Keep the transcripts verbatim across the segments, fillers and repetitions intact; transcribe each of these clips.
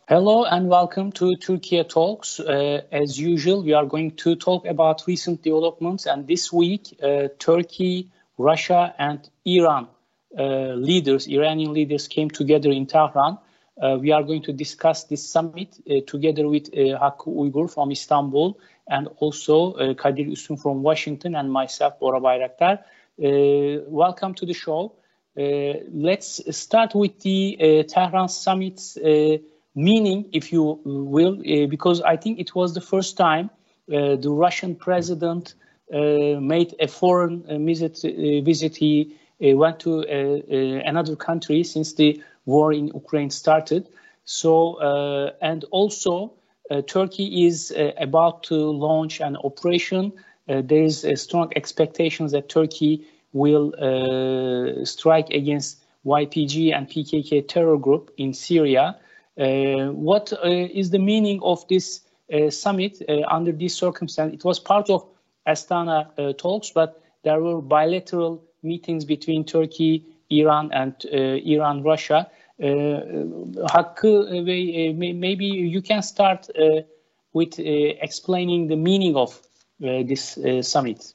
Hello and welcome to Turkey Talks. Uh, as usual, we are going to talk about recent developments, and this week, uh, Turkey, Russia, and Iran uh, leaders, Iranian leaders, came together in Tehran. Uh, we are going to discuss this summit uh, together with uh, Hakkı Uygur from Istanbul, and also uh, Kadir Üstün from Washington, and myself, Bora Bayraktar. Uh, welcome to the show. Uh, let's start with the uh, Tehran summit's uh, meaning, if you will, uh, because I think it was the first time uh, the Russian president uh, made a foreign uh, visit. Uh, visit. He uh, went to uh, uh, another country since the war in Ukraine started. So, uh, and also uh, Turkey is uh, about to launch an operation. Uh, there is a strong expectations that Turkey will uh, strike against Y P G and P K K terror group in Syria. Uh, what uh, is the meaning of this uh, summit uh, under these circumstances? It was part of Astana uh, talks, but there were bilateral meetings between Turkey, Iran, and uh, Iran, Russia. Uh, Hakkı, uh, maybe you can start uh, with uh, explaining the meaning of uh, this uh, summit.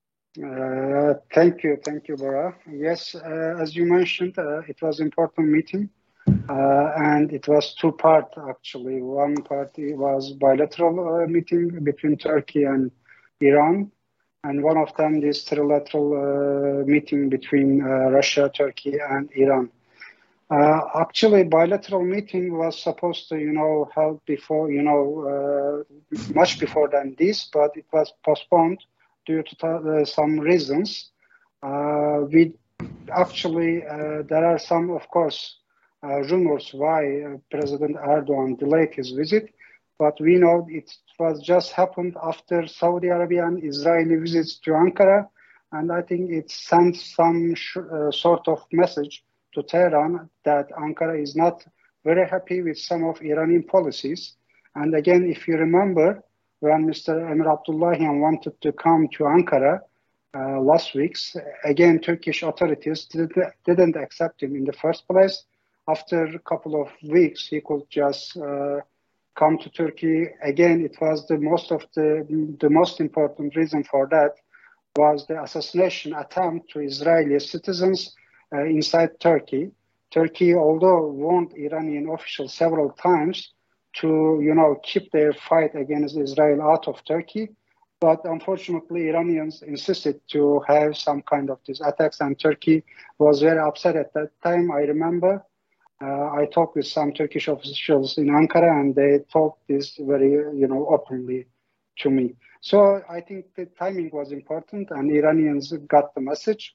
Uh, thank you, thank you, Bora. Yes, uh, as you mentioned, uh, it was an important meeting. Uh, and it was two parts, actually. One part was bilateral uh, meeting between Turkey and Iran, and one of them this trilateral uh, meeting between uh, Russia, Turkey, and Iran. Uh, actually, bilateral meeting was supposed to, you know, held before, you know, uh, much before than this, but it was postponed due to uh, some reasons. Uh, we actually, uh, there are some, of course, Uh, rumors why uh, President Erdogan delayed his visit, but we know it was just happened after Saudi Arabia and Israeli visits to Ankara, and I think it sent some uh, sort of message to Tehran that Ankara is not very happy with some of Iranian policies. And again, if you remember, when Mister Emir Abdullahian wanted to come to Ankara uh, last week, again, Turkish authorities did, didn't accept him in the first place. After a couple of weeks, he could just uh, come to Turkey. Again, it was the most of the the most important reason for that was the assassination attempt to Israeli citizens uh, inside Turkey. Turkey, although warned Iranian officials several times to, you know, keep their fight against Israel out of Turkey, but unfortunately, Iranians insisted to have some kind of these attacks, and Turkey was very upset at that time. I remember. Uh, I talked with some Turkish officials in Ankara, and they talked this very, you know, openly to me. So I think the timing was important, and Iranians got the message.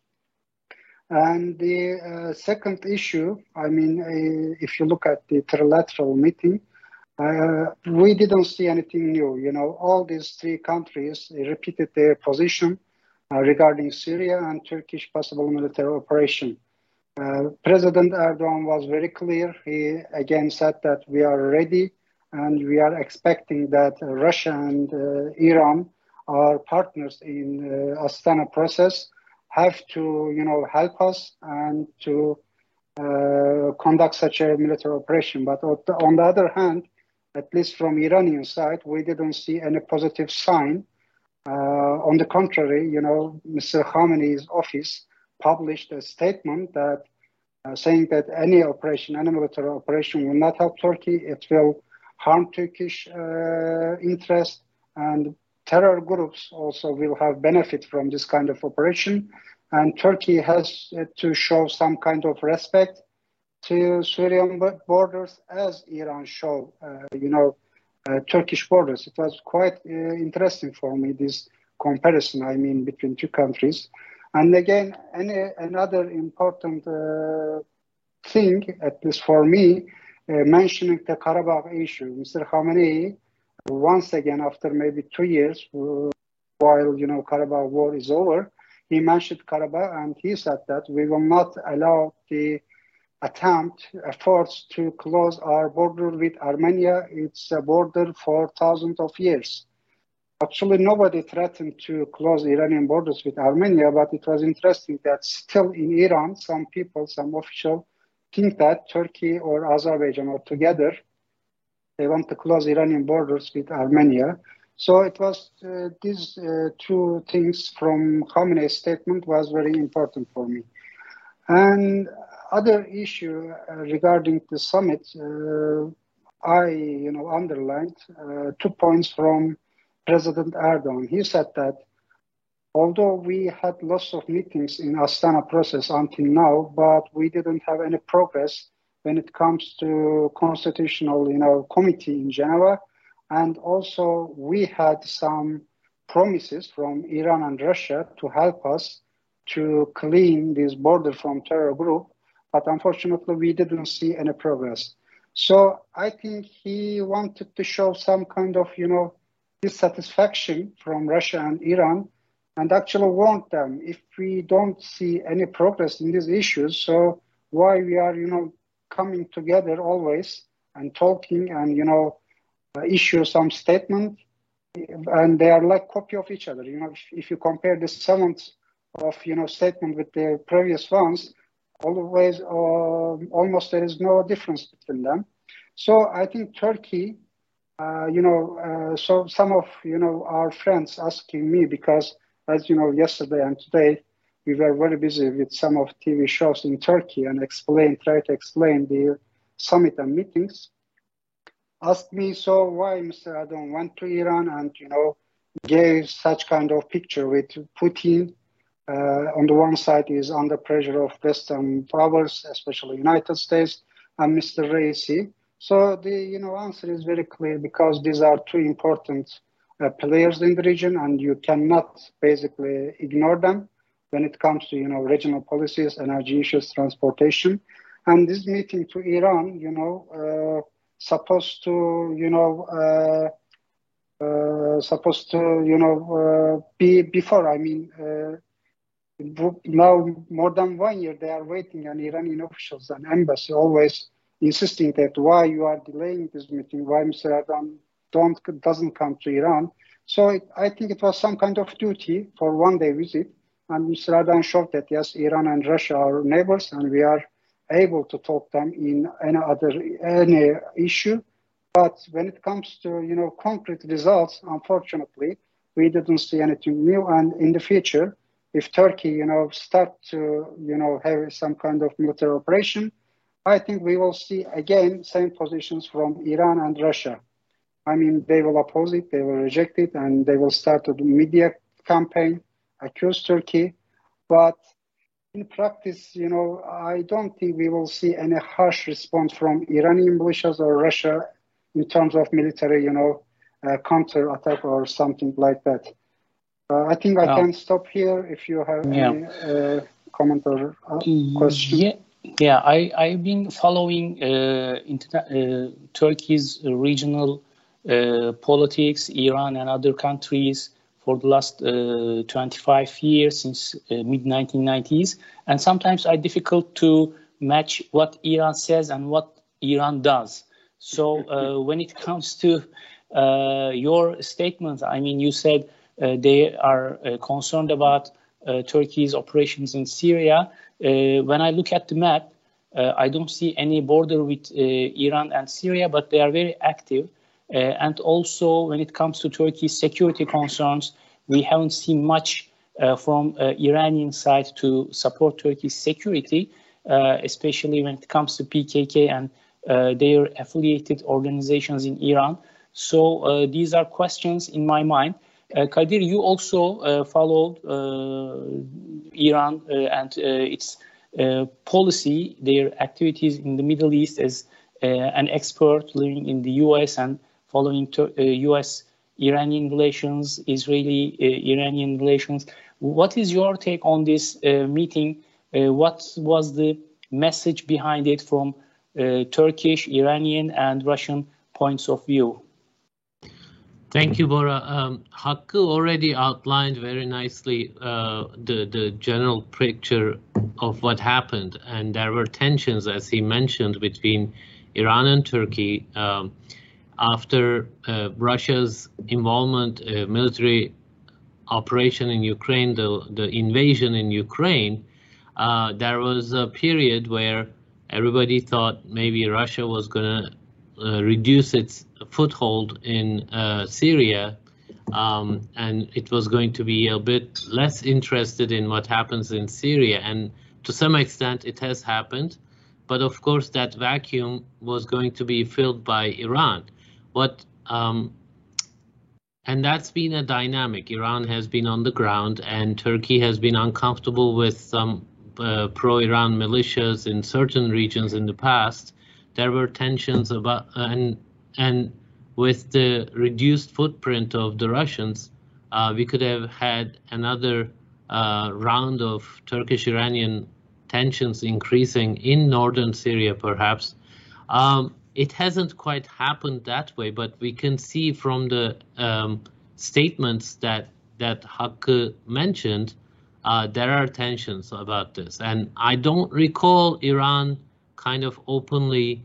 And the uh, second issue, I mean, uh, if you look at the trilateral meeting, uh, we didn't see anything new. You know, all these three countries repeated their position uh, regarding Syria and Turkish possible military operation. Uh, President Erdogan was very clear. He again said that we are ready and we are expecting that uh, Russia and uh, Iran, our partners in uh, Astana process, have to, you know, help us and to uh, conduct such a military operation. But on the other hand, at least from Iranian side, we didn't see any positive sign. Uh, on the contrary, you know, Mister Khamenei's office published a statement that uh, saying that any operation, any military operation will not help Turkey. It will harm Turkish uh, interest, and terror groups also will have benefit from this kind of operation. And Turkey has to show some kind of respect to Syrian borders as Iran show, uh, you know, uh, Turkish borders. It was quite uh, interesting for me, this comparison, I mean, between two countries. And again, any, another important uh, thing, at least for me, uh, mentioning the Karabakh issue. Mister Khamenei, once again, after maybe two years, uh, while, you know, Karabakh war is over, he mentioned Karabakh and he said that we will not allow the attempt, efforts to close our border with Armenia. It's a border for thousands of years. Actually, nobody threatened to close Iranian borders with Armenia, but it was interesting that still in Iran, some people, some officials think that Turkey or Azerbaijan or together They want to close Iranian borders with Armenia. So it was uh, these uh, two things from Khamenei's statement was very important for me. And other issue uh, regarding the summit, uh, I, you know, underlined uh, two points from President Erdogan. He said that although we had lots of meetings in Astana process until now, but we didn't have any progress when it comes to constitutional, you know, committee in Geneva. And also we had some promises from Iran and Russia to help us to clean this border from terror group. But unfortunately, we didn't see any progress. So I think he wanted to show some kind of, you know, dissatisfaction from Russia and Iran, and actually warned them, if we don't see any progress in these issues, so why we are, you know, coming together always and talking and, you know, uh, issue some statement, and they are like copy of each other. You know, if, if you compare the seventh of, you know, statement with the previous ones, always, uh, almost there is no difference between them. So I think Turkey, uh, you know, uh, so some of, you know, our friends asking me, because as you know, yesterday and today, we were very busy with some of T V shows in Turkey and explain, try to explain the summit and meetings. Asked me, so why Mister Erdogan went to Iran and, you know, gave such kind of picture with Putin. Uh, on the one side is under pressure of Western powers, especially United States, and Mister Raisi. So the, you know, answer is very clear, because these are two important uh, players in the region, and you cannot basically ignore them when it comes to, you know, regional policies, energy issues, transportation. And this meeting to Iran, you know, uh, supposed to, you know, uh, uh, supposed to, you know, uh, be before, I mean, uh, now more than one year they are waiting, and Iranian officials and embassy always insisting that why you are delaying this meeting, why Mister Erdogan don't, doesn't come to Iran. So it, I think it was some kind of duty for one day visit, and Mister Erdogan showed that yes, Iran and Russia are neighbors, and we are able to talk them in any other any issue. But when it comes to, you know, concrete results, unfortunately, we didn't see anything new. And in the future, if Turkey, you know, start to, you know, have some kind of military operation, I think we will see again same positions from Iran and Russia. I mean, they will oppose it, they will reject it, and they will start a media campaign, accuse Turkey. But in practice, you know, I don't think we will see any harsh response from Iranian militias or Russia in terms of military, you know, uh, counter-attack or something like that. Uh, I think I oh. can stop here if you have yeah. any uh, comment or uh, question. Yeah, yeah. I, I've been following uh, uh, Turkey's regional uh, politics, Iran and other countries for the last uh, twenty-five years, since uh, mid nineteen nineties. And sometimes it's difficult to match what Iran says and what Iran does. So uh, when it comes to uh, your statement, I mean, you said uh, they are uh, concerned about uh, Turkey's operations in Syria. Uh, when I look at the map, uh, I don't see any border with uh, Iran and Syria, but they are very active. Uh, and also, when it comes to Turkey's security concerns, we haven't seen much uh, from uh, Iranian side to support Turkey's security, uh, especially when it comes to P K K and uh, their affiliated organizations in Iran. So uh, these are questions in my mind. Uh, Kadir, you also uh, followed uh, Iran uh, and uh, its uh, policy, their activities in the Middle East as uh, an expert living in the U S and following uh, U S-Iranian relations, Israeli-Iranian uh, relations. What is your take on this uh, meeting? Uh, what was the message behind it from uh, Turkish, Iranian, and Russian points of view? Thank you, Bora. Um, Hakkı already outlined very nicely uh, the, the general picture of what happened. And there were tensions, as he mentioned, between Iran and Turkey. Um, After uh, Russia's involvement, uh, military operation in Ukraine, the, the invasion in Ukraine, uh, there was a period where everybody thought maybe Russia was going to uh, reduce its foothold in uh, Syria, um, and it was going to be a bit less interested in what happens in Syria. And to some extent, it has happened. But of course, that vacuum was going to be filled by Iran. What um, and that's been a dynamic. Iran has been on the ground, and Turkey has been uncomfortable with some uh, pro-Iran militias in certain regions in the past. There were tensions about, and and with the reduced footprint of the Russians, uh, we could have had another uh, round of Turkish-Iranian tensions increasing in northern Syria, perhaps. Um, It hasn't quite happened that way, but we can see from the um, statements that that Hakkı mentioned, uh, there are tensions about this. And I don't recall Iran kind of openly,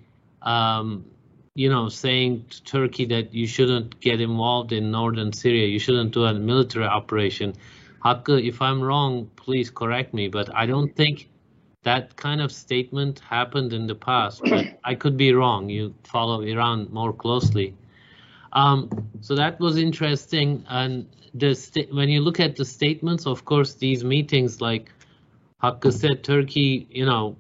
um, you know, saying to Turkey that you shouldn't get involved in northern Syria, you shouldn't do a military operation. Hakkı, if I'm wrong, please correct me, but I don't think that kind of statement happened in the past, but I could be wrong. You follow Iran more closely. Um, so that was interesting. And the when you look at the statements, of course, these meetings, like Hakkı said, Turkey, you know,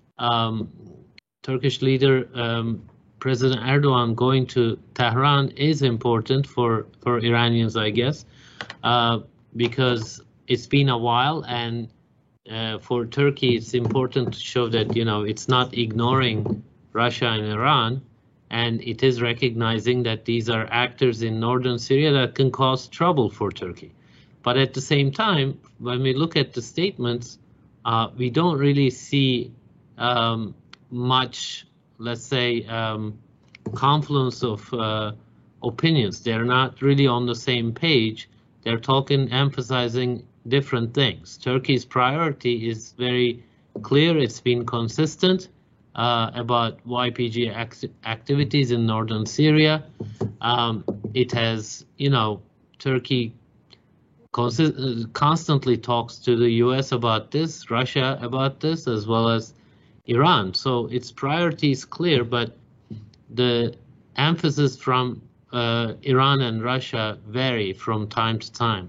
um, Turkish leader, um, President Erdogan going to Tehran is important for, for Iranians, I guess, uh, because it's been a while, and Uh, for Turkey, it's important to show that, you know, it's not ignoring Russia and Iran, and it is recognizing that these are actors in northern Syria that can cause trouble for Turkey. But at the same time, when we look at the statements, uh, we don't really see um, much, let's say, um, confluence of uh, opinions. They're not really on the same page. They're talking, emphasizing different things. Turkey's priority is very clear. It's been consistent uh, about Y P G act activities in northern Syria. Um, it has, you know, Turkey constantly talks to the U S about this, Russia about this, as well as Iran. So its priority is clear, but the emphasis from uh, Iran and Russia vary from time to time.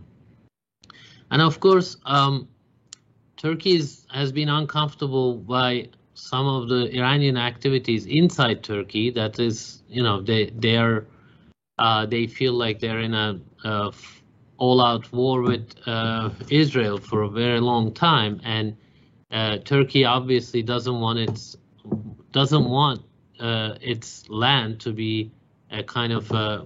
And of course, um, Turkey is, has been uncomfortable by some of the Iranian activities inside Turkey. That is, you know, they they are uh, they feel like they're in a, a all-out war with uh, Israel for a very long time, and uh, Turkey obviously doesn't want its doesn't want uh, its land to be a kind of a,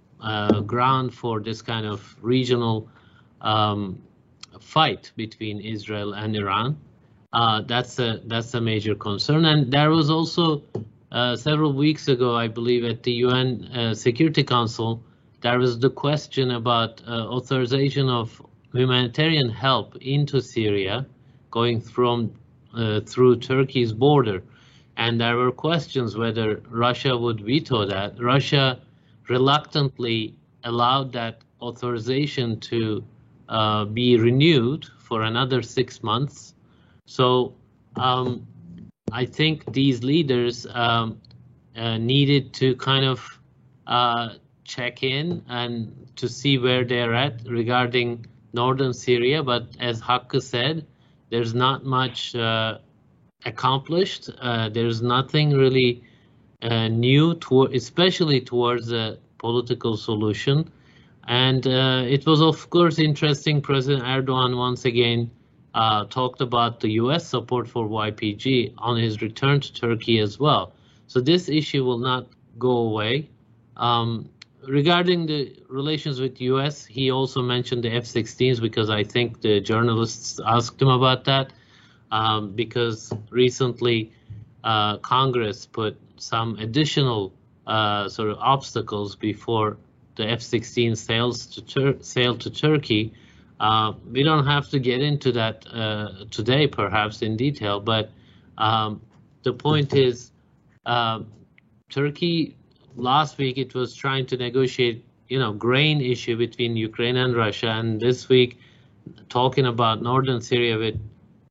a ground for this kind of regional Um, fight between Israel and Iran. Uh, that's a that's a major concern. And there was also uh, several weeks ago, I believe, at the U N uh, Security Council, there was the question about uh, authorization of humanitarian help into Syria, going from uh, through Turkey's border. And there were questions whether Russia would veto that. Russia reluctantly allowed that authorization to Uh, be renewed for another six months. So um, I think these leaders um, uh, needed to kind of uh, check in and to see where they're at regarding northern Syria. But as Hakkı said, there's not much uh, accomplished. Uh, there's nothing really uh, new, to, especially towards a political solution. And uh, it was, of course, interesting. President Erdogan once again uh, talked about the U S support for Y P G on his return to Turkey as well. So this issue will not go away. Um, regarding the relations with U S, he also mentioned the F sixteens, because I think the journalists asked him about that, um, because recently uh, Congress put some additional uh, sort of obstacles before the F sixteen sales to Tur sale to Turkey. Uh, we don't have to get into that uh, today, perhaps in detail, but um, the point is, uh, Turkey last week it was trying to negotiate, you know, grain issue between Ukraine and Russia, and this week talking about northern Syria with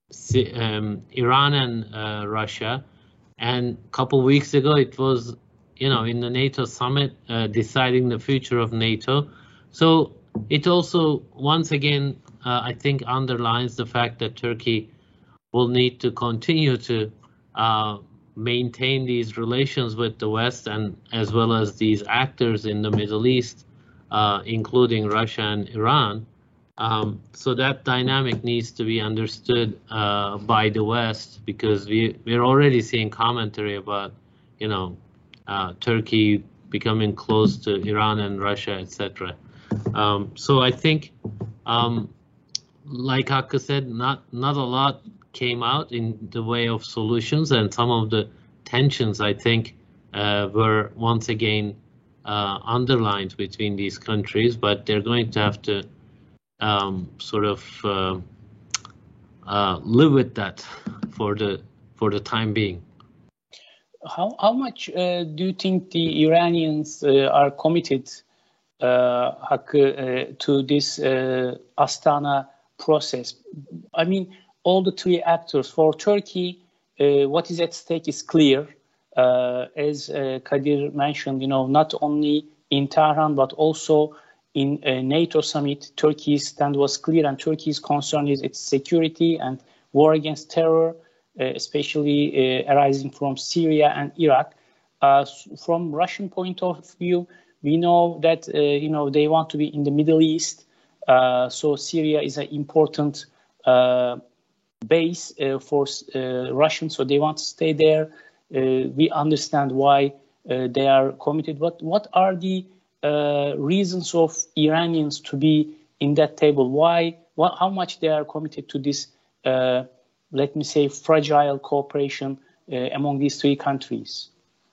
um, Iran and uh, Russia, and a couple weeks ago it was you know, in the NATO summit, uh, deciding the future of NATO. So it also, once again, uh, I think underlines the fact that Turkey will need to continue to uh, maintain these relations with the West, and as well as these actors in the Middle East, uh, including Russia and Iran. Um, so that dynamic needs to be understood uh, by the West, because we, we're already seeing commentary about, you know, uh, Turkey becoming close to Iran and Russia, et cetera. Um, so I think, um, like Hakkı said, not not a lot came out in the way of solutions, and some of the tensions, I think, uh, were once again uh, underlined between these countries. But they're going to have to um, sort of uh, uh, live with that for the for the time being. How how much uh, do you think the Iranians uh, are committed, uh, Hakkı, uh, to this uh, Astana process? I mean, all the three actors. For Turkey, uh, what is at stake is clear. Uh, as uh, Kadir mentioned, you know, not only in Tehran but also in a NATO summit, Turkey's stand was clear, and Turkey's concern is its security and war against terror, uh, especially uh, arising from Syria and Iraq. Uh, from Russian point of view, we know that uh, you know they want to be in the Middle East, uh, so Syria is an important uh, base uh, for uh, Russians, so they want to stay there. Uh, we understand why uh, they are committed. But what are the uh, reasons of Iranians to be in that table? Why? What, how much they are committed to this, uh, let me say, fragile cooperation uh, among these three countries?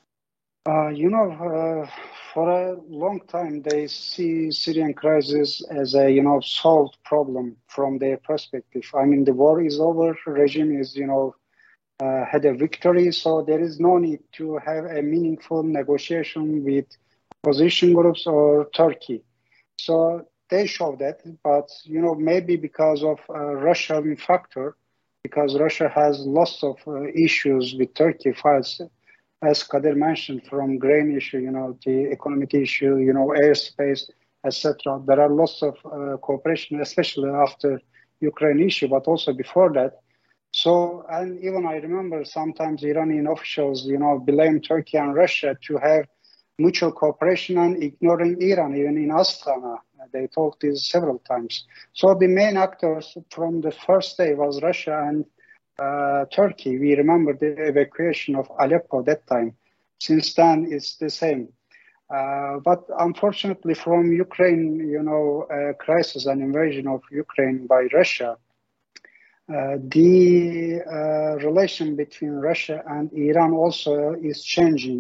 Uh, you know, uh, for a long time, they see Syrian crisis as a, you know, solved problem from their perspective. I mean, the war is over, regime is, you know, uh, had a victory, so there is no need to have a meaningful negotiation with opposition groups or Turkey. So they show that, but, you know, maybe because of uh, Russian factor, because Russia has lots of uh, issues with Turkey, files, as Kadir mentioned, from grain issue, you know, the economic issue, you know, airspace, et cetera. There are lots of uh, cooperation, especially after Ukraine issue, but also before that. So, and even I remember sometimes Iranian officials, you know, blame Turkey and Russia to have mutual cooperation and ignoring Iran, even in Astana. They talked this several times. So the main actors from the first day was Russia and Uh, Turkey. We remember the evacuation of Aleppo that time. Since then, it's the same. Uh, but unfortunately, from Ukraine, you know, uh, crisis and invasion of Ukraine by Russia, uh, the uh, relation between Russia and Iran also is changing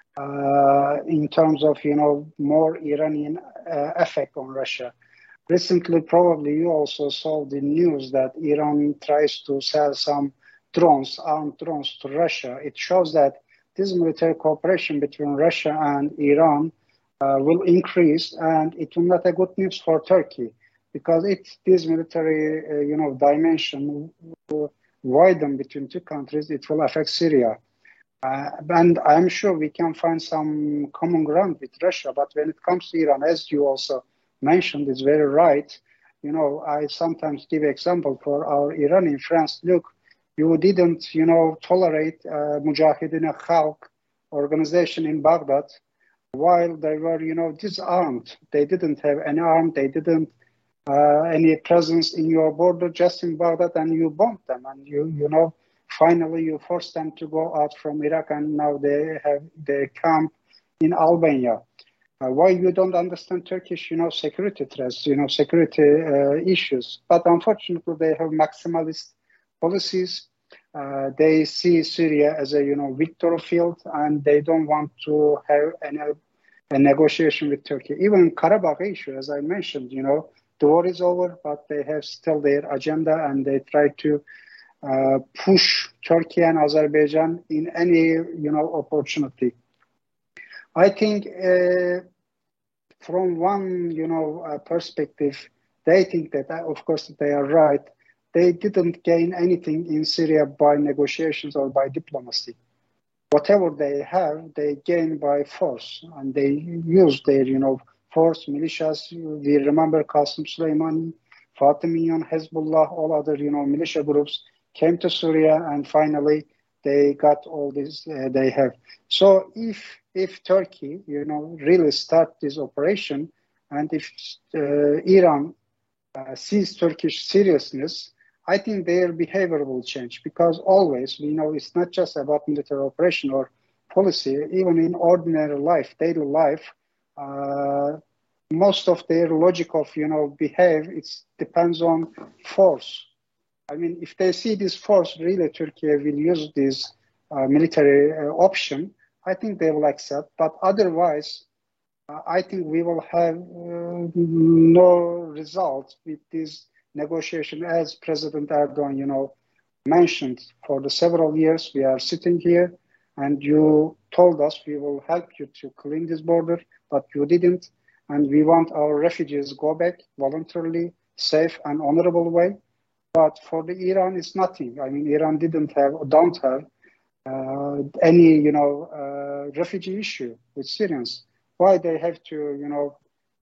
uh, in terms of, you know, more Iranian uh, effect on Russia. Recently, probably you also saw the news that Iran tries to sell some drones, armed drones to Russia. It shows that this military cooperation between Russia and Iran uh, will increase, and it will not be good news for Turkey, because if this military, uh, you know, dimension will widen between two countries, it will affect Syria. Uh, and I'm sure we can find some common ground with Russia, but when it comes to Iran, as you also mentioned, is very right. You know, I sometimes give example for our Iranian friends. Look, you didn't, you know, tolerate uh, Mujahideen Khalq organization in Baghdad while they were, you know, disarmed. They didn't have any arm. They didn't uh, any presence in your border, just in Baghdad, and you bombed them. And you, you know, finally you forced them to go out from Iraq, and now they have their camp in Albania. Uh, why you don't understand Turkish, you know, security threats, you know, security uh, issues. But unfortunately, they have maximalist policies. Uh, they see Syria as a, you know, victory field, and they don't want to have any a negotiation with Turkey. Even Karabakh issue, as I mentioned, you know, the war is over, but they have still their agenda, and they try to uh, push Turkey and Azerbaijan in any, you know, opportunity. I think uh, from one, you know, uh, perspective, they think that, uh, of course, they are right. They didn't gain anything in Syria by negotiations or by diplomacy. whatever they have, they gain by force, and they use their, you know, force, militias. We remember Qasem Soleimani, Fatimiyan, Hezbollah, all other, you know, militia groups came to Syria, and finally they got all this uh, they have. So if if Turkey, you know, really start this operation, and if uh, Iran uh, sees Turkish seriousness, I think their behavior will change, because always, we know, it's not just about military operation or policy. Even in ordinary life, daily life, uh, most of their logic of, you know, behave, it depends on force. I mean, if they see this force, really Turkey will use this uh, military uh, option, I think they will accept. But otherwise, uh, I think we will have uh, no result with this negotiation. As President Erdogan, you know, mentioned, for the several years we are sitting here, and you told us we will help you to clean this border, but you didn't. And we want our refugees go back voluntarily, safe and honorable way. But for the Iran, it's nothing. I mean, Iran didn't have, don't have uh, any, you know, uh, refugee issue with Syrians. Why they have to, you know,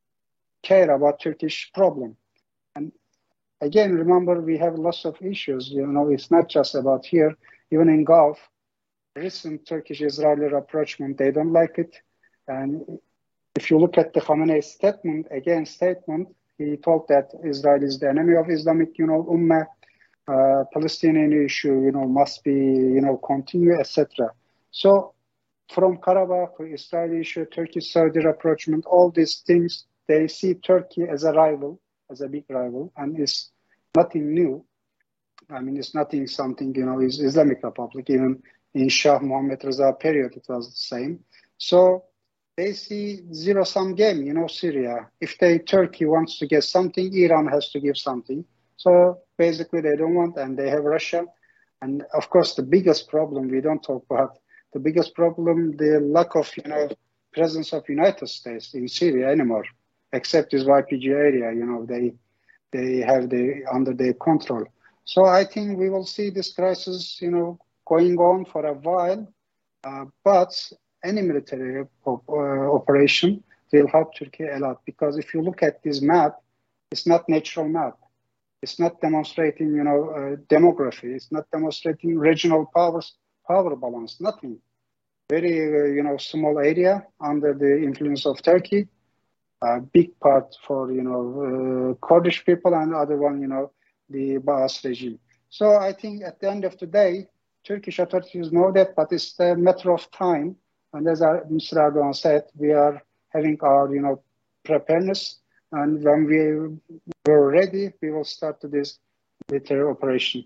care about Turkish problem? And again, remember, we have lots of issues. You know, it's not just about here. Even in Gulf, recent Turkish-Israeli rapprochement, they don't like it. And if you look at the Khamenei statement, again, statement, he told that Israel is the enemy of Islamic, you know, Ummah, uh, Palestinian issue, you know, must be, you know, continue, et cetera. So from Karabakh, Israeli issue, Turkish-Saudi rapprochement, all these things, they see Turkey as a rival, as a big rival, and it's nothing new. I mean, it's nothing something, you know, is Islamic Republic. Even in Shah Mohammad Reza period, it was the same. So they see zero-sum game, you know, Syria. If they, Turkey wants to get something, Iran has to give something. So basically they don't want, and they have Russia. And of course, the biggest problem, we don't talk about, the biggest problem, the lack of, you know, presence of United States in Syria anymore, except this Y P G area, you know, they they have the under their control. So I think we will see this crisis, you know, going on for a while, uh, but any military op uh, operation will help Turkey a lot, because if you look at this map, it's not natural map. It's not demonstrating, you know, uh, demography. It's not demonstrating regional powers, power balance, nothing. Very, uh, you know, small area under the influence of Turkey. A big part for, you know, uh, Kurdish people, and other one, you know, the Baas regime. So I think at the end of the day, Turkish authorities know that, but it's a matter of time. And as Mister Erdogan said, we are having our, you know, preparedness. And when we were ready, we will start this military operation.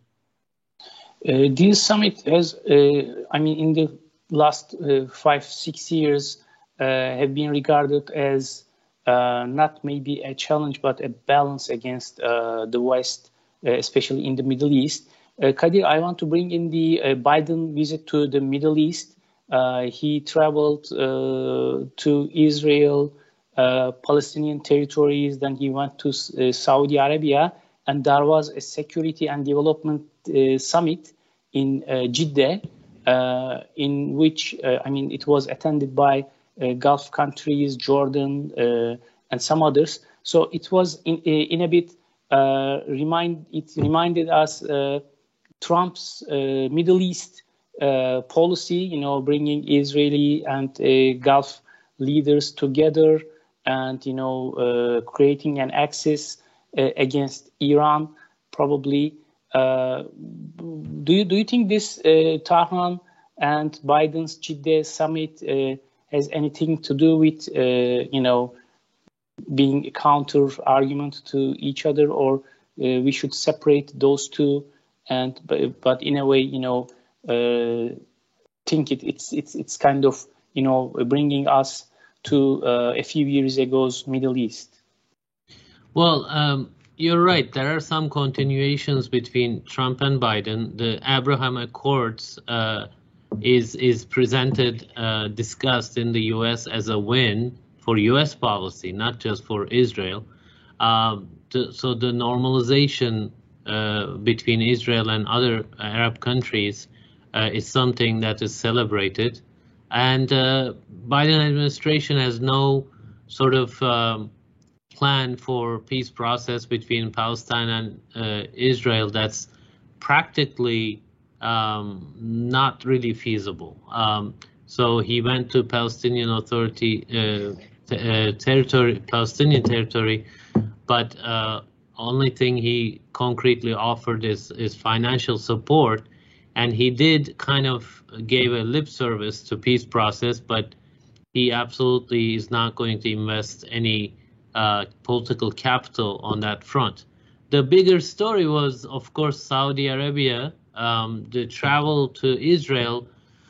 Uh, this summit has, uh, I mean, in the last uh, five, six years, uh, have been regarded as uh, not maybe a challenge, but a balance against uh, the West, uh, especially in the Middle East. Uh, Kadir, I want to bring in the uh, Biden visit to the Middle East. Uh, he traveled uh, to Israel, uh, Palestinian territories, then he went to uh, Saudi Arabia, and there was a security and development uh, summit in uh, Jeddah, uh, in which, uh, I mean, it was attended by uh, Gulf countries, Jordan, uh, and some others. So it was in, in a bit, uh, remind, it reminded us uh, Trump's uh, Middle East uh, policy, you know, bringing Israeli and uh, Gulf leaders together and, you know, uh, creating an axis uh, against Iran, probably. Uh, do you do you think this uh, Tahran and Biden's Jeddah summit uh, has anything to do with, uh, you know, being a counter argument to each other, or uh, we should separate those two? And but, but in a way, you know, uh, think it, it's it's it's kind of, you know, bringing us to uh, a few years ago's Middle East. Well, um, you're right. There are some continuations between Trump and Biden. The Abraham Accords uh, is is presented, uh, discussed in the U S as a win for U S policy, not just for Israel. Um, to, so the normalization uh, between Israel and other Arab countries uh, is something that is celebrated. And uh, Biden administration has no sort of um, plan for peace process between Palestine and uh, Israel that's practically um, not really feasible. Um, so he went to Palestinian Authority uh, uh, territory, Palestinian territory, but uh, only thing he concretely offered is, is financial support. And he did kind of gave a lip service to peace process, but he absolutely is not going to invest any uh, political capital on that front. The bigger story was, of course, Saudi Arabia. Um, the travel to Israel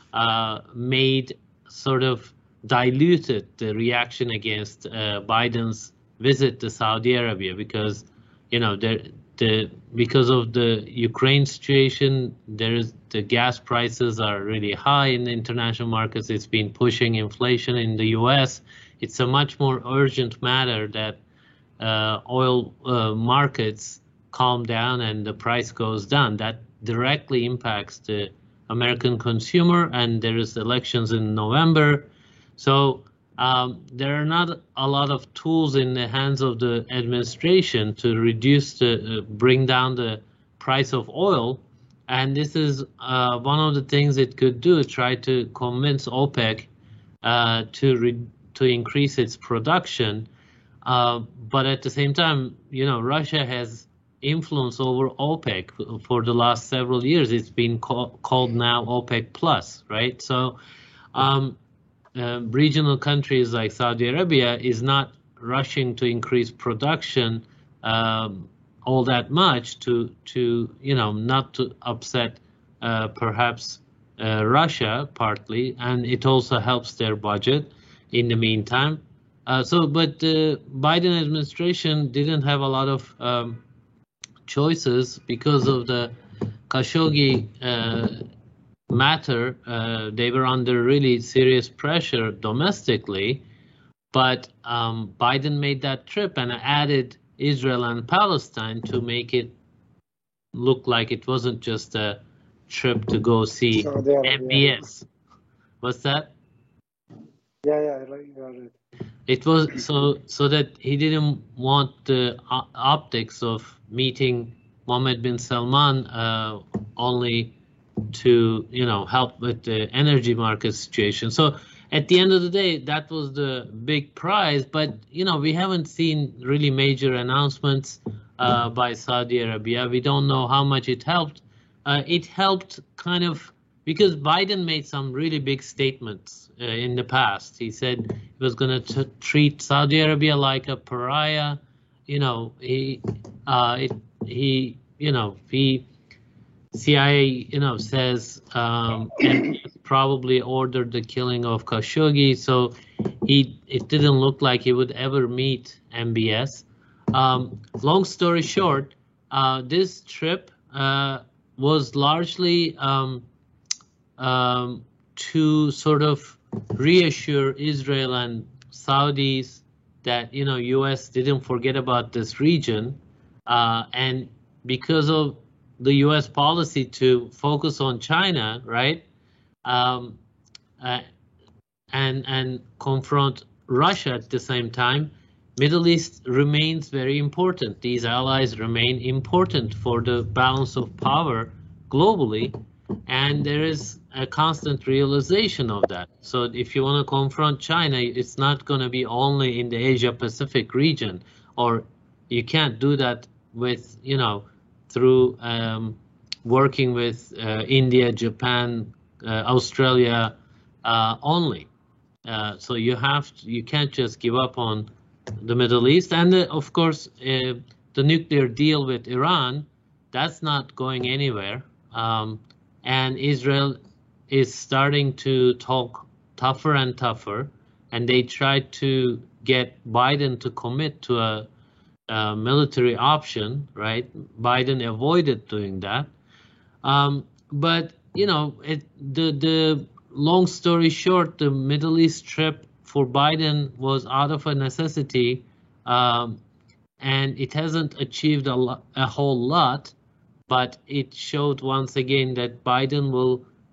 uh, made sort of diluted the reaction against uh, Biden's visit to Saudi Arabia because, you know, there. The, because of the Ukraine situation, there is the gas prices are really high in the international markets. It's been pushing inflation in the U S. It's a much more urgent matter that uh, oil uh, markets calm down and the price goes down. That directly impacts the American consumer, and there is elections in November. So Um, there are not a lot of tools in the hands of the administration to reduce the, uh, bring down the price of oil. And this is uh, one of the things it could do, try to convince OPEC uh, to, re to increase its production. Uh, but at the same time, you know, Russia has influence over OPEC for the last several years. It's been call called now OPEC Plus, right? So, um, Uh, regional countries like Saudi Arabia is not rushing to increase production um, all that much to, to you know, not to upset uh, perhaps uh, Russia partly, and it also helps their budget in the meantime. Uh, so, but the Biden administration didn't have a lot of um, choices because of the Khashoggi uh, matter. Uh, they were under really serious pressure domestically, but um, Biden made that trip and added Israel and Palestine to make it look like it wasn't just a trip to go see M B S. What's that? Yeah, yeah, right, right. It was so so that he didn't want the optics of meeting Mohammed bin Salman uh, only to, you know, help with the energy market situation. So at the end of the day, that was the big prize. But, you know, we haven't seen really major announcements uh, by Saudi Arabia. We don't know how much it helped. Uh, it helped kind of because Biden made some really big statements uh, in the past. He said he was going to treat Saudi Arabia like a pariah. You know, he, uh, it, he, you know, he, C I A, you know, says um, and probably ordered the killing of Khashoggi. So he, it didn't look like he would ever meet M B S. Um, long story short, uh, this trip uh, was largely um, um, to sort of reassure Israel and Saudis that, you know, U S didn't forget about this region, uh, and because of the U S policy to focus on China, right, um, uh, and and confront Russia at the same time, Middle East remains very important. These allies remain important for the balance of power globally, and there is a constant realization of that. So if you want to confront China, it's not going to be only in the Asia-Pacific region, or you can't do that with, you know, through um, working with uh, India, Japan, uh, Australia uh, only. Uh, so you have to, you can't just give up on the Middle East. And uh, of course, uh, the nuclear deal with Iran, that's not going anywhere. Um, and Israel is starting to talk tougher and tougher. And they tried to get Biden to commit to a Uh, military option, right? Biden avoided doing that. Um, but, you know, it, the, the long story short, the Middle East trip for Biden was out of a necessity, um, and it hasn't achieved a, lo a whole lot, but it showed once again that Biden will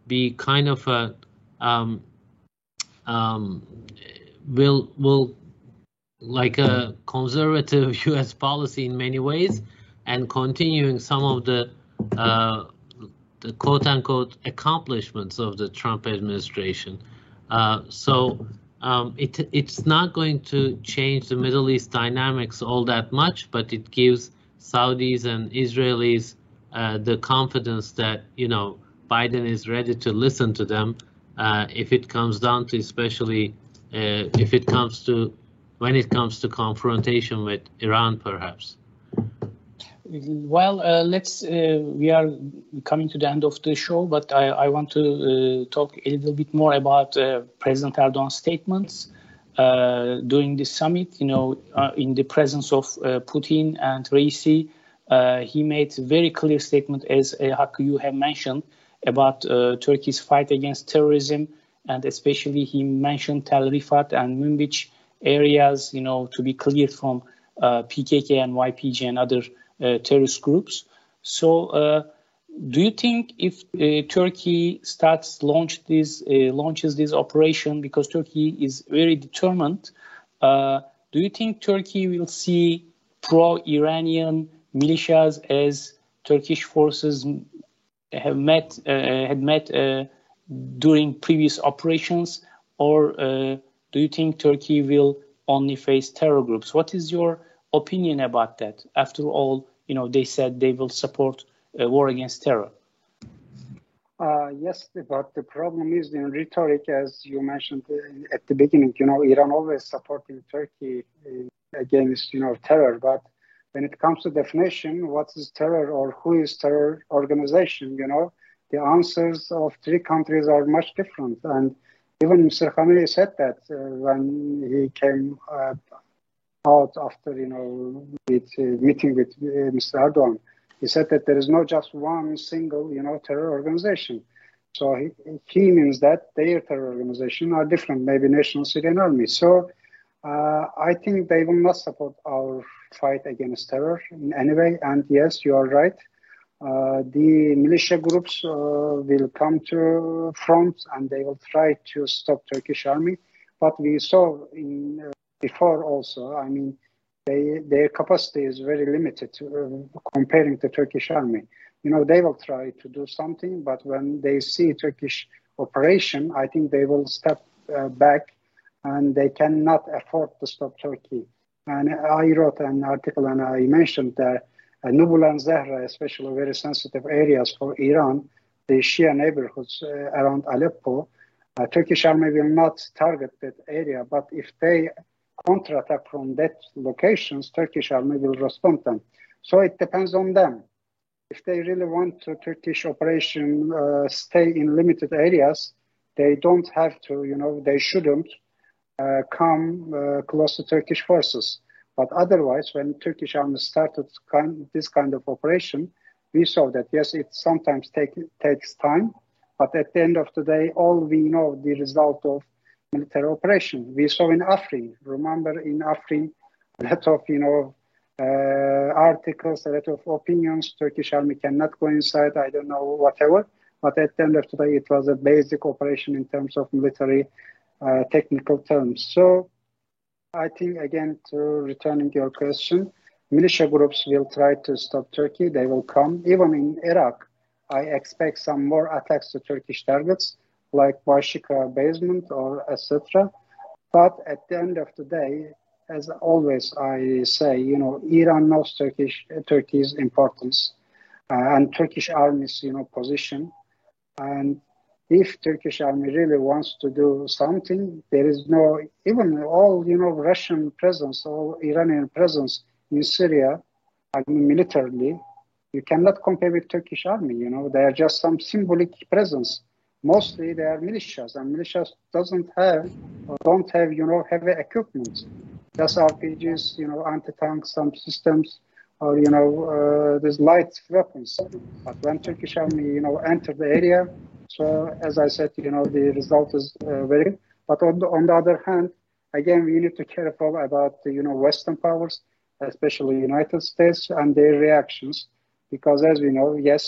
be kind of a um, um, will will like a conservative U S policy in many ways, and continuing some of the uh, the quote-unquote accomplishments of the Trump administration. Uh, so um, it it's not going to change the Middle East dynamics all that much, but it gives Saudis and Israelis uh, the confidence that, you know, Biden is ready to listen to them uh, if it comes down to, especially uh, if it comes to, when it comes to confrontation with Iran, perhaps. Well, uh, let's, uh, we are coming to the end of the show, but I, I want to uh, talk a little bit more about uh, President Erdogan's statements uh, during the summit. You know, uh, in the presence of uh, Putin and Raisi, uh, he made a very clear statement, as uh, Hakkı, you have mentioned, about uh, Turkey's fight against terrorism, and especially he mentioned Tel Rifat and Münbic areas, you know, to be cleared from uh, P K K and Y P G and other Uh, terrorist groups. So, uh, do you think if uh, Turkey starts launch this uh, launches this operation, because Turkey is very determined, uh, do you think Turkey will see pro-Iranian militias as Turkish forces have met uh, had met uh, during previous operations, or uh, do you think Turkey will only face terror groups? What is your opinion about that? After all, you know, they said they will support a war against terror. Uh, yes, but the problem is in rhetoric, as you mentioned at the beginning. You know, Iran always supporting Turkey against, you know, terror. But when it comes to definition, what is terror or who is terror organization? You know, the answers of three countries are much different. And even Mister Khamenei said that uh, when he came Uh, out after, you know, with, uh, meeting with uh, Mister Erdogan. He said that there is not just one single, you know, terror organization. So he, he means that their terror organization are different, maybe National Syrian Army. So uh, I think they will not support our fight against terror in any way. And yes, you are right. Uh, the militia groups uh, will come to front and they will try to stop Turkish army. But we saw in uh, before also, I mean, they, their capacity is very limited uh, comparing to Turkish army. You know, they will try to do something, but when they see Turkish operation, I think they will step uh, back and they cannot afford to stop Turkey. And I wrote an article and I mentioned that uh, Nubul and Zahra, especially very sensitive areas for Iran, the Shia neighborhoods uh, around Aleppo, uh, Turkish army will not target that area, but if they counterattack from that locations, Turkish army will respond them. So it depends on them. If they really want to Turkish operation uh, stay in limited areas, they don't have to, you know, they shouldn't uh, come uh, close to Turkish forces. But otherwise, when Turkish army started kind, this kind of operation, we saw that, yes, it sometimes take, takes time, but at the end of the day, all we know the result of military operation. We saw in Afrin, remember in Afrin, a lot of, you know, uh, articles, a lot of opinions, Turkish army cannot go inside, I don't know, whatever. But at the end of the day, it was a basic operation in terms of military uh, technical terms. So I think, again, to returning your question, militia groups will try to stop Turkey. They will come. Even in Iraq, I expect some more attacks to Turkish targets, like Bashika basement or et cetera. But at the end of the day, as always I say, you know, Iran knows Turkish Turkey's importance uh, and Turkish army's, you know, position. And if Turkish army really wants to do something, there is no, even all, you know, Russian presence or Iranian presence in Syria, I mean, militarily, you cannot compare with Turkish army. You know, they are just some symbolic presence. Mostly they are militias, and militias doesn't have or don't have, you know, heavy equipment. Just R P Gs, you know, anti-tank, some systems, or, you know, uh, there's light weapons. But when Turkish army, you know, enter the area, so as I said, you know, the result is uh, very good. But on the, on the other hand, again, we need to be careful about the, you know, Western powers, especially United States, and their reactions. Because as we know, yes,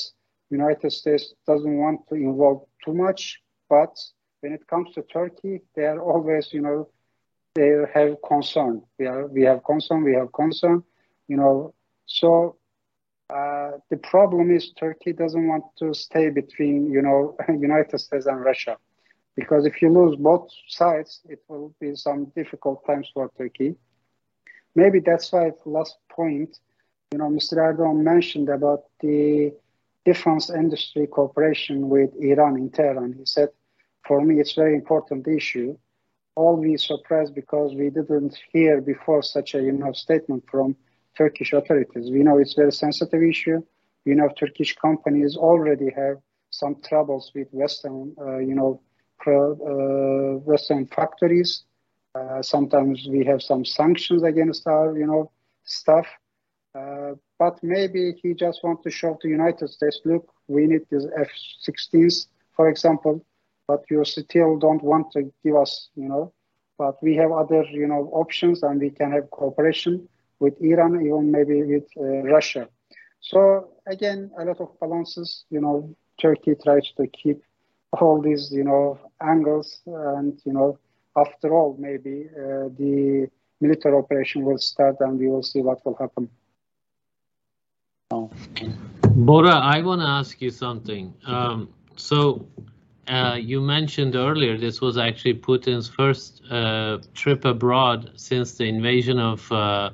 United States doesn't want to involve too much, but when it comes to Turkey, they are always, you know, they have concern. We are, we have concern, we have concern, you know. So uh, the problem is Turkey doesn't want to stay between, you know, United States and Russia, because if you lose both sides, it will be some difficult times for Turkey. Maybe that's why the last point, you know, Mister Erdogan mentioned about the defense industry cooperation with Iran in Tehran. He said, for me, it's a very important issue. All we surprised because we didn't hear before such a, you know, statement from Turkish authorities. We know it's a very sensitive issue. We know Turkish companies already have some troubles with Western, uh, you know, pro, uh, Western factories. Uh, sometimes we have some sanctions against our, you know, stuff. Uh, but maybe he just wants to show to the United States, look, we need these F sixteens, for example, but you still don't want to give us, you know, but we have other, you know, options, and we can have cooperation with Iran, even maybe with uh, Russia. So again, a lot of balances, you know, Turkey tries to keep all these, you know, angles, and, you know, after all, maybe uh, the military operation will start and we will see what will happen. Oh. Bora, I want to ask you something. Um, so uh, you mentioned earlier this was actually Putin's first uh, trip abroad since the invasion of uh,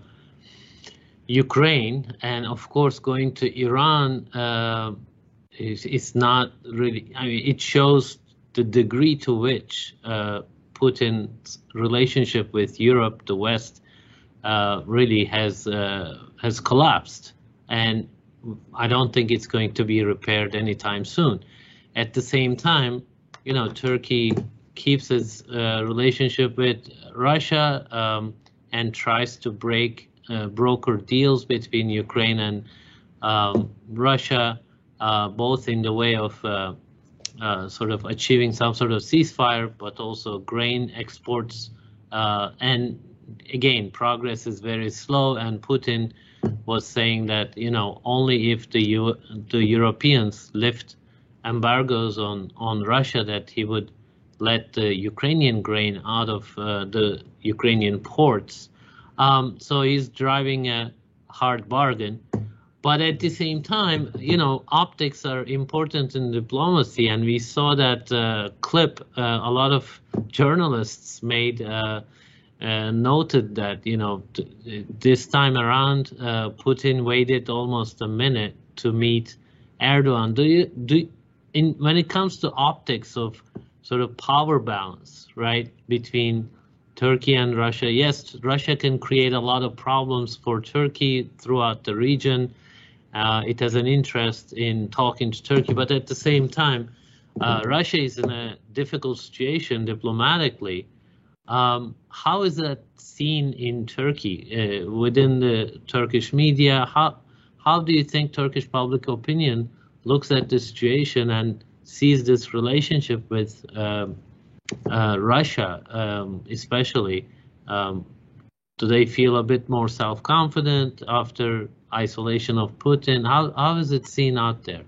Ukraine, and of course going to Iran uh, is, is not really, I mean, it shows the degree to which uh, Putin's relationship with Europe, the West, uh, really has uh, has collapsed, and I don't think it's going to be repaired anytime soon. At the same time, you know, Turkey keeps its uh, relationship with Russia um, and tries to break uh, broker deals between Ukraine and um, Russia, uh, both in the way of uh, Uh, sort of achieving some sort of ceasefire, but also grain exports. Uh, and again, progress is very slow. And Putin was saying that, you know, only if the U the Europeans lift embargoes on on Russia, that he would let the Ukrainian grain out of uh, the Ukrainian ports. Um, so he's driving a hard bargain. But at the same time, you know, optics are important in diplomacy, and we saw that uh, clip. Uh, a lot of journalists made uh, uh, noted that, you know, this time around, uh, Putin waited almost a minute to meet Erdogan. Do you do in when it comes to optics of sort of power balance, right, between Turkey and Russia? Yes, Russia can create a lot of problems for Turkey throughout the region. Uh, it has an interest in talking to Turkey, but at the same time, uh, Russia is in a difficult situation diplomatically. Um, how is that seen in Turkey, uh, within the Turkish media? How how do you think Turkish public opinion looks at the situation and sees this relationship with uh, uh, Russia, um, especially? Um, do they feel a bit more self-confident after isolation of Putin? How how is it seen out there?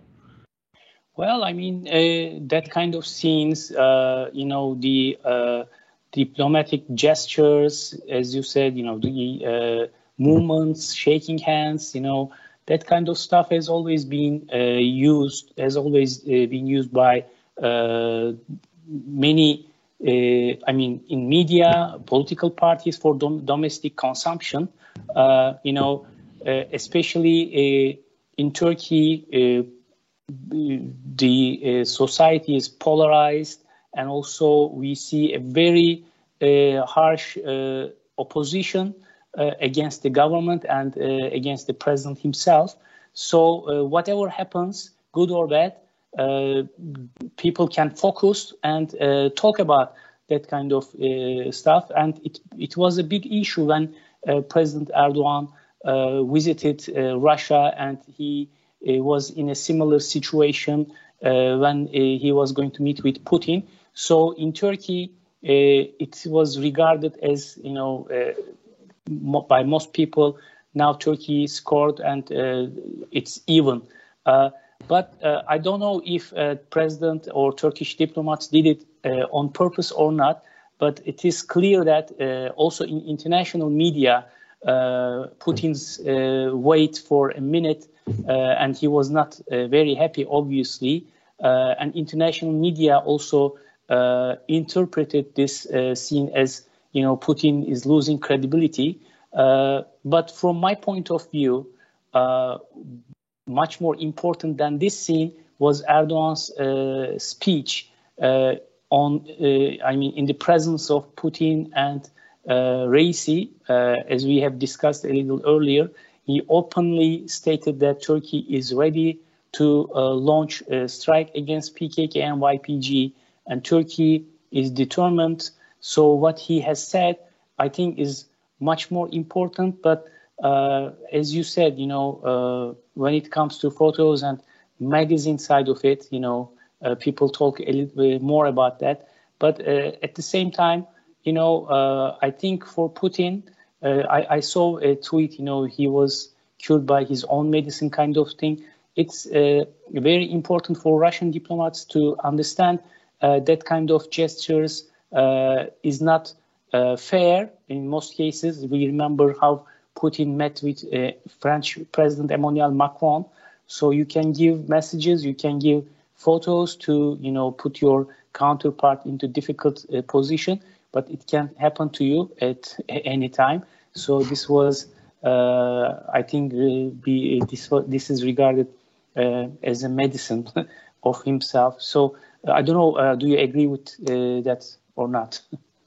Well, I mean, uh, that kind of scenes, uh, you know, the uh, diplomatic gestures, as you said, you know, the uh, movements, shaking hands, you know, that kind of stuff has always been uh, used, has always uh, been used by uh, many, uh, I mean, in media, political parties for dom domestic consumption, uh, you know, uh, especially uh, in Turkey, uh, the uh, society is polarized, and also we see a very uh, harsh uh, opposition uh, against the government and uh, against the president himself. So uh, whatever happens, good or bad, uh, people can focus and uh, talk about that kind of uh, stuff. And it, it was a big issue when uh, President Erdogan uh, visited uh, Russia, and he uh, was in a similar situation uh, when uh, he was going to meet with Putin. So in Turkey, uh, it was regarded as, you know, uh, mo by most people, now Turkey scored and uh, it's even. Uh, But uh, I don't know if uh, president or Turkish diplomats did it uh, on purpose or not. But it is clear that uh, also in international media, uh, Putin's uh, wait for a minute, uh, and he was not uh, very happy, obviously. Uh, and international media also uh, interpreted this uh, scene as, you know, Putin is losing credibility. Uh, but from my point of view, uh, much more important than this scene was Erdogan's uh, speech uh, on, uh, I mean, in the presence of Putin and uh, Raisi, uh, as we have discussed a little earlier. He openly stated that Turkey is ready to uh, launch a strike against P K K and Y P G, and Turkey is determined. So what he has said, I think, is much more important. But uh, as you said, you know, uh, when it comes to photos and magazine side of it, you know, uh, people talk a little bit more about that. But uh, at the same time, you know, uh, I think for Putin, uh, I, I saw a tweet, you know, he was cured by his own medicine kind of thing. It's uh, very important for Russian diplomats to understand uh, that kind of gestures uh, is not uh, fair in most cases. We remember how Putin met with uh, French President Emmanuel Macron. So you can give messages, you can give photos to, you know, put your counterpart into difficult uh, position, but it can happen to you at any time. So this was, uh, I think, uh, be, this, this is regarded uh, as a medicine of himself. So uh, I don't know, uh, do you agree with uh, that or not?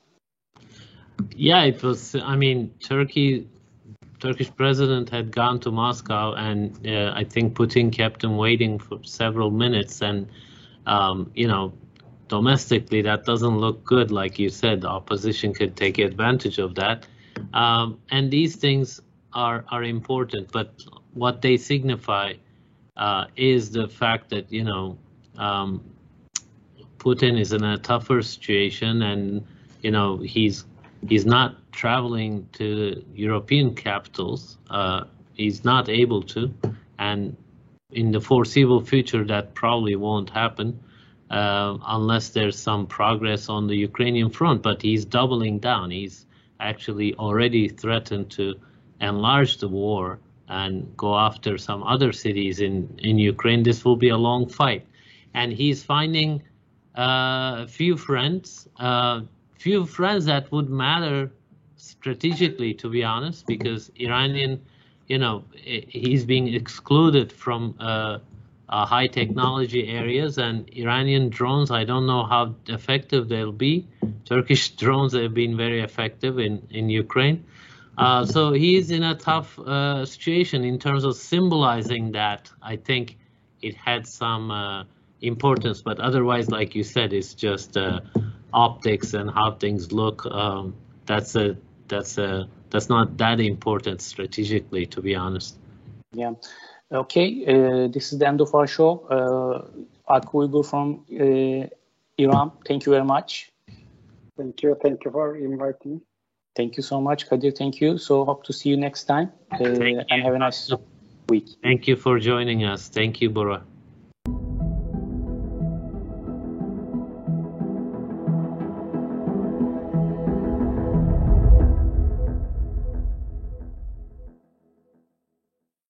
Yeah, it was, I mean, Turkey, Turkish president had gone to Moscow, and uh, I think Putin kept him waiting for several minutes. And, um, you know, domestically, that doesn't look good. Like you said, the opposition could take advantage of that. Um, and these things are, are important. But what they signify uh, is the fact that, you know, um, Putin is in a tougher situation, and, you know, he's He's not traveling to European capitals. Uh, he's not able to. And in the foreseeable future, that probably won't happen uh, unless there's some progress on the Ukrainian front. But he's doubling down. He's actually already threatened to enlarge the war and go after some other cities in, in Ukraine. This will be a long fight. And he's finding uh, a few friends, uh, few friends that would matter strategically, to be honest, because Iranian, you know, he's being excluded from uh, uh, high technology areas, and Iranian drones, I don't know how effective they'll be. Turkish drones have been very effective in, in Ukraine. Uh, so he's in a tough uh, situation in terms of symbolizing that. I think it had some uh, importance, but otherwise, like you said, it's just uh, optics and how things look. Um, that's a that's a that's not that important strategically, to be honest. Yeah. Okay. Uh, this is the end of our show. Uh, Hakkı Uygur from uh, Iran. Thank you very much. Thank you. Thank you for inviting me. Thank you so much, Kadir. Thank you. So hope to see you next time. Uh, and have a nice week. Thank you for joining us. Thank you, Bora.